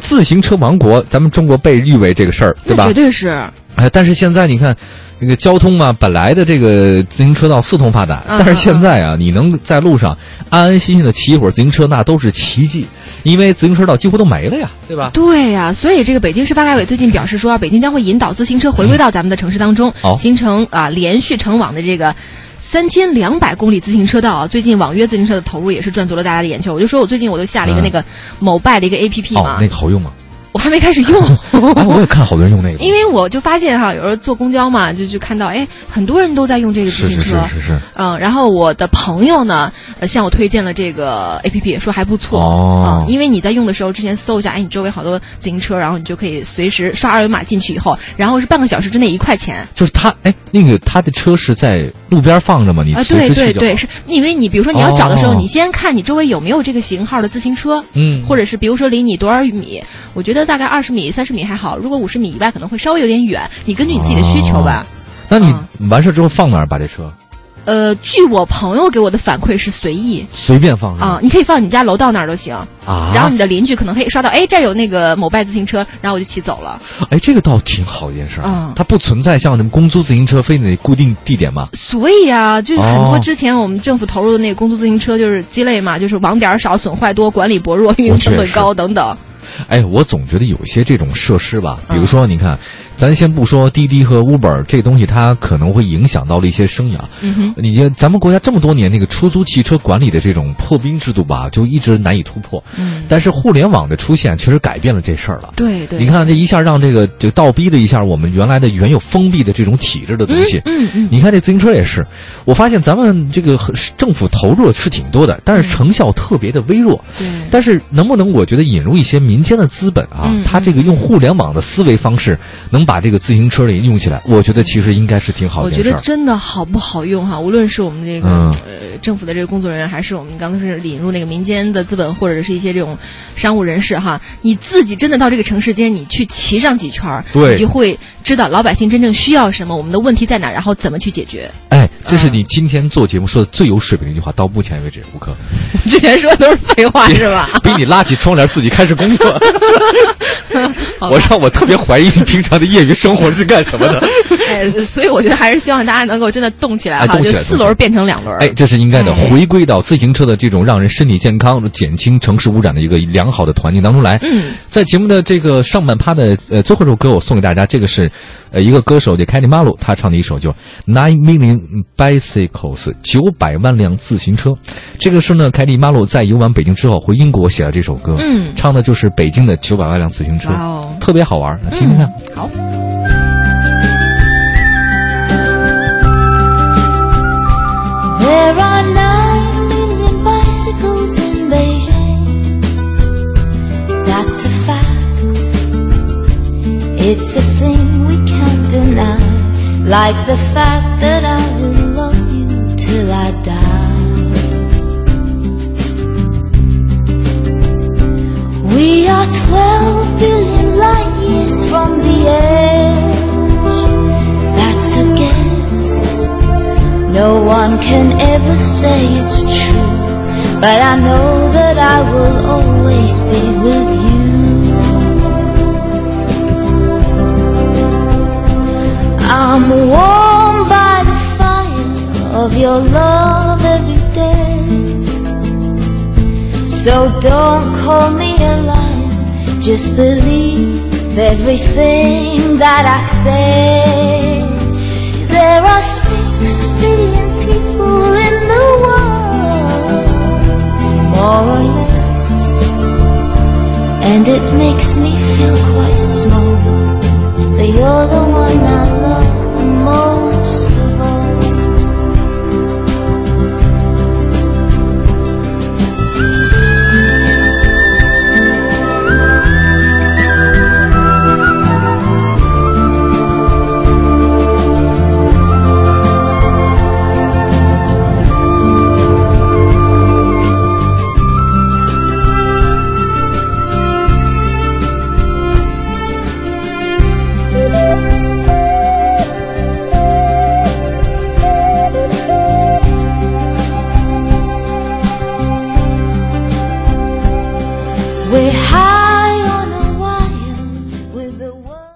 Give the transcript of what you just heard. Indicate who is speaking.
Speaker 1: 自行车王国，咱们中国被誉为这个事儿，对吧？
Speaker 2: 绝对是。
Speaker 1: 但是现在你看，这个交通啊，本来的这个自行车道四通八达，但是现在啊，你能在路上安安心心的骑一会儿自行车，那都是奇迹，因为自行车道几乎都没了呀，对吧？
Speaker 2: 对呀，所以这个北京市发改委最近表示说，北京将会引导自行车回归到咱们的城市当中，形成连续成网的这个3200公里自行车道。最近网约自行车的投入也是赚足了大家的眼球。我就说我最近我都下了一个那个某拜的一个 APP 嘛，
Speaker 1: 那个好用吗？
Speaker 2: 我还没开始用
Speaker 1: 我也看好多人用那个，
Speaker 2: 因为我就发现哈，有时候坐公交嘛，就看到很多人都在用这个自行车，
Speaker 1: 是。
Speaker 2: 然后我的朋友呢，向我推荐了这个 APP， 说还不错因为你在用的时候，之前搜一下，你周围好多自行车，然后你就可以随时刷二维码进去以后，然后是半个小时之内1块钱。
Speaker 1: 就是他他的车是在路边放着吗？你随时去
Speaker 2: 对，是因为你比如说你要找的时候，你先看你周围有没有这个型号的自行车，或者是比如说离你多少米，我觉得大概20米、30米还好，如果50米以外可能会稍微有点远，你根据你自己的需求吧。
Speaker 1: 那你完事之后放哪儿把这车？
Speaker 2: 据我朋友给我的反馈是随意，
Speaker 1: 随便放
Speaker 2: 你可以放你家楼道那儿都行然后你的邻居可能可以刷到，这儿有那个某拜自行车，然后我就骑走了。
Speaker 1: 这个倒挺好一件事它不存在像什么公租自行车非得固定地点吗？
Speaker 2: 所以啊，就是很多之前我们政府投入的那个公租自行车就是鸡肋嘛，就是网点少、损坏多、管理薄弱、运营成本高等等。
Speaker 1: 我总觉得有些这种设施吧，比如说你看，咱先不说滴滴和 Uber 这个东西，它可能会影响到了一些生涯。咱们国家这么多年那个出租汽车管理的这种破冰制度吧，就一直难以突破。但是互联网的出现确实改变了这事儿了。
Speaker 2: 对，
Speaker 1: 你看这一下让这个倒逼了一下我们原有封闭的这种体制的东西。你看这自行车也是，我发现咱们这个政府投入是挺多的，但是成效特别的微弱。但是能不能我觉得引入一些民间的资本它这个用互联网的思维方式能把这个自行车里用起来，我觉得其实应该是挺好的一件事。
Speaker 2: 我觉得真的好不好用无论是我们这个政府的这个工作人员，还是我们刚才是引入那个民间的资本，或者是一些这种商务人士你自己真的到这个城市间，你去骑上几圈，你就会知道老百姓真正需要什么，我们的问题在哪，然后怎么去解决。
Speaker 1: 这是你今天做节目说的最有水平的一句话，到目前为止，吴克。
Speaker 2: 之前说的都是废话是吧？
Speaker 1: 逼你拉起窗帘自己开始工作。我特别怀疑你平常的业余生活是干什么的。
Speaker 2: 所以我觉得还是希望大家能够真的动起来就4轮变成2轮。
Speaker 1: 这是应该的，回归到自行车的这种让人身体健康、减轻城市污染的一个良好的团境当中来。在节目的这个上半趴的最后一首歌，我送给大家，这个是一个歌手叫凯蒂马鲁，他唱的一首就 9 million bicycles 900万辆自行车。这个是呢，凯蒂马鲁在游玩北京之后回英国写了这首歌，唱的就是北京的900万辆自行车，特别好玩，听听看。
Speaker 2: 好。
Speaker 3: There are 9 million bicycles in Beijing. That's a fact. It's a thing we can't deny. Like the fact that I will love you till I die. We are 12 billion light years from the edge. That's a guess.No one can ever say it's true, but I know that I will always be with you. I'm warmed by the fire of your love every day. So don't call me a liar, just believe everything that I say. There are 6 billion people in the world, more or less, and it makes me feel quite small, but you're the one I love most of all. the world.